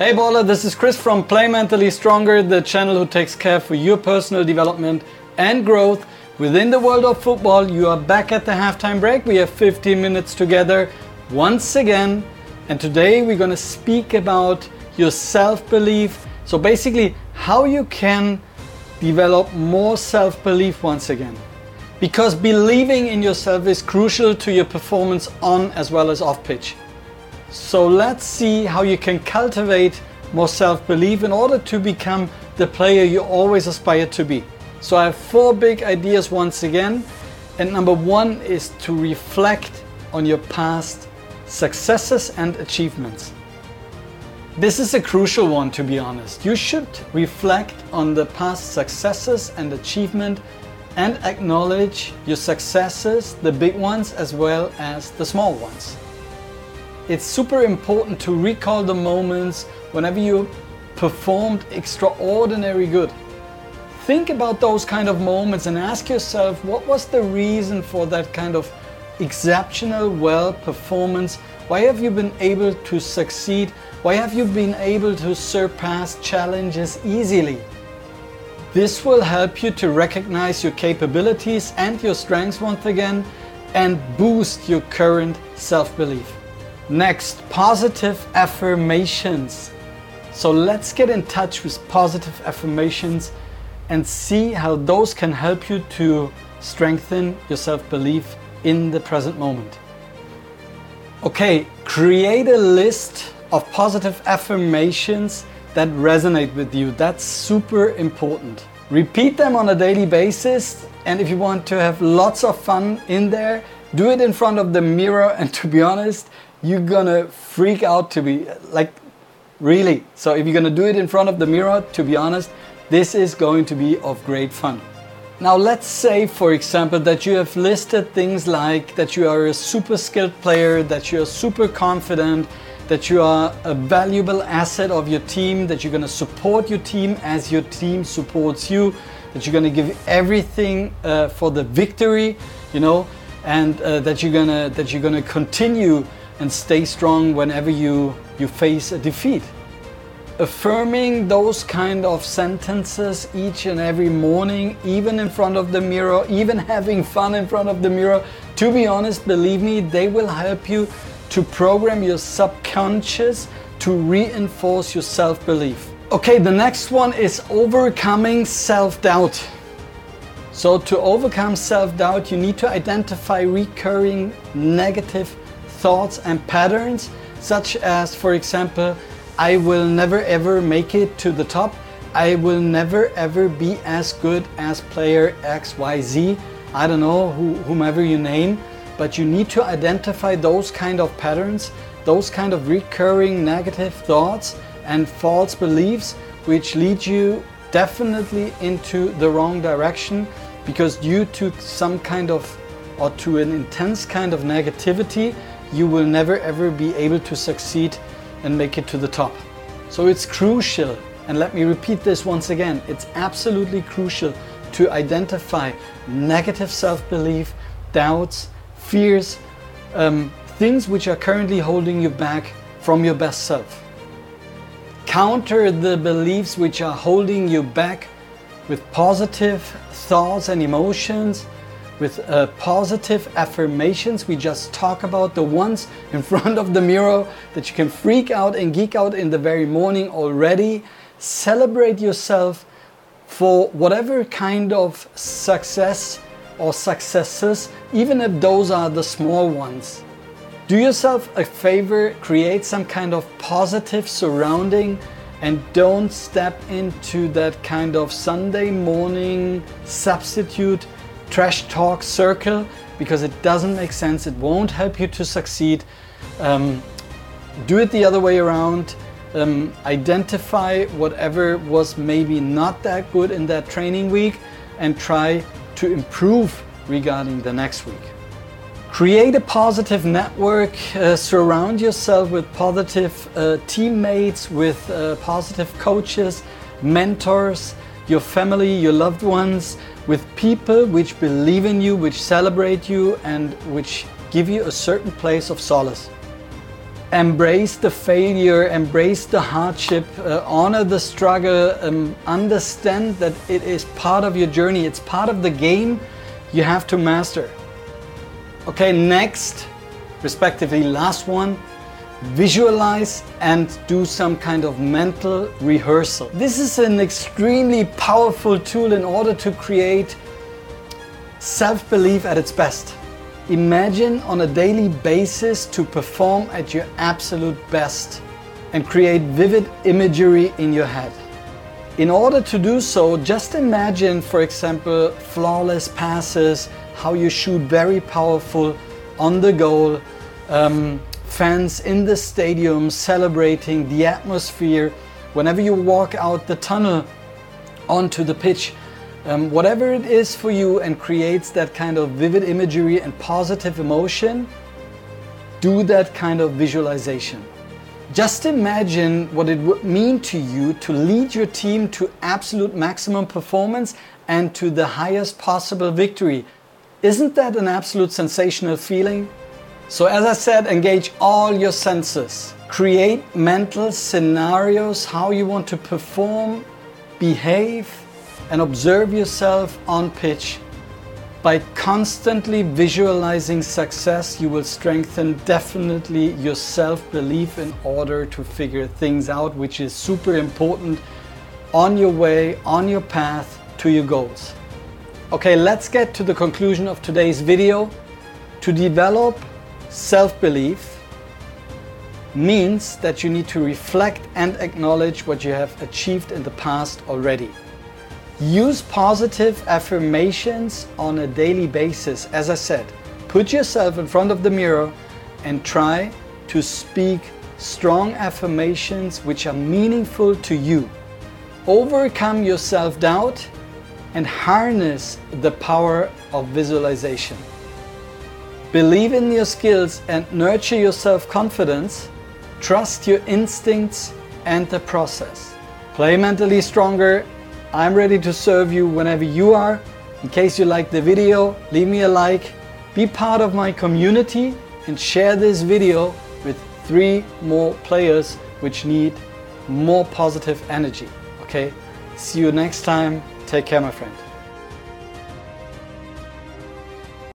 Hey baller, this is Chris from Play Mentally Stronger, the channel who takes care for your personal development and growth within the world of football. You are back at the halftime break. We have 15 minutes together once again, and today we're going to speak about your self-belief. So basically how you can develop more self-belief once again. Because believing in yourself is crucial to your performance on as well as off pitch. So let's see how you can cultivate more self-belief in order to become the player you always aspire to be. So I have 4 big ideas once again, and number 1 is to reflect on your past successes and achievements. This is a crucial one, to be honest. You should reflect on the past successes and achievement and acknowledge your successes, the big ones as well as the small ones. It's super important to recall the moments whenever you performed extraordinary good. Think about those kind of moments and ask yourself, what was the reason for that kind of exceptional well performance? Why have you been able to succeed? Why have you been able to surpass challenges easily? This will help you to recognize your capabilities and your strengths once again and boost your current self-belief. Next, positive affirmations. So let's get in touch with positive affirmations and see how those can help you to strengthen your self-belief in the present moment. Okay, create a list of positive affirmations that resonate with you. That's super important. Repeat them on a daily basis, and if you want to have lots of fun in there, do it in front of the mirror, and to be honest, you're gonna freak out, to be like, really. So if you're gonna do it in front of the mirror, to be honest, this is going to be of great fun. Now let's say, for example, that you have listed things like that you are a super skilled player, that you are super confident, that you are a valuable asset of your team, that you're gonna support your team as your team supports you, that you're gonna give everything for the victory, you know, and that you're gonna continue and stay strong whenever you face a defeat. Affirming those kind of sentences each and every morning, even in front of the mirror, even having fun in front of the mirror, to be honest, believe me, they will help you to program your subconscious to reinforce your self-belief. Okay, the next one is overcoming self-doubt. So to overcome self-doubt, you need to identify recurring negative thoughts and patterns, such as, for example, I will never ever make it to the top. I will never ever be as good as player XYZ. I don't know whomever you name, but you need to identify those kind of patterns, those kind of recurring negative thoughts and false beliefs, which lead you definitely into the wrong direction, because due to some kind of, or to an intense kind of negativity, you will never ever be able to succeed and make it to the top. So it's crucial, and let me repeat this once again, it's absolutely crucial to identify negative self-belief, doubts, fears, things which are currently holding you back from your best self. Counter the beliefs which are holding you back with positive thoughts and emotions, with positive affirmations. We just talk about the ones in front of the mirror that you can freak out and geek out in the very morning already. Celebrate yourself for whatever kind of success or successes, even if those are the small ones. Do yourself a favor, create some kind of positive surrounding, and don't step into that kind of Sunday morning substitute trash talk circle, because it doesn't make sense. It won't help you to succeed. Do it the other way around. Identify whatever was maybe not that good in that training week and try to improve regarding the next week. Create a positive network, surround yourself with positive teammates, with positive coaches, mentors, your family, your loved ones, with people which believe in you, which celebrate you, and which give you a certain place of solace. Embrace the failure, embrace the hardship, honor the struggle, understand that it is part of your journey, it's part of the game you have to master. Okay, next, respectively last one, visualize and do some kind of mental rehearsal. This is an extremely powerful tool in order to create self-belief at its best. Imagine on a daily basis to perform at your absolute best and create vivid imagery in your head. In order to do so, just imagine, for example, flawless passes, how you shoot very powerful on the goal, fans in the stadium celebrating the atmosphere, whenever you walk out the tunnel onto the pitch. Whatever it is for you and creates that kind of vivid imagery and positive emotion, do that kind of visualization. Just imagine what it would mean to you to lead your team to absolute maximum performance and to the highest possible victory. Isn't that an absolute sensational feeling? So as I said, engage all your senses. Create mental scenarios how you want to perform, behave, and observe yourself on pitch. By constantly visualizing success, you will strengthen definitely your self-belief in order to figure things out, which is super important on your way, on your path to your goals. Okay, let's get to the conclusion of today's video. To develop self-belief means that you need to reflect and acknowledge what you have achieved in the past already. Use positive affirmations on a daily basis. As I said, put yourself in front of the mirror and try to speak strong affirmations which are meaningful to you. Overcome your self-doubt and harness the power of visualization. Believe in your skills and nurture your self-confidence. Trust your instincts and the process. Play mentally stronger. I'm ready to serve you whenever you are. In case you like the video, leave me a like, be part of my community and share this video with 3 more players which need more positive energy. Okay, see you next time. Take care, my friend.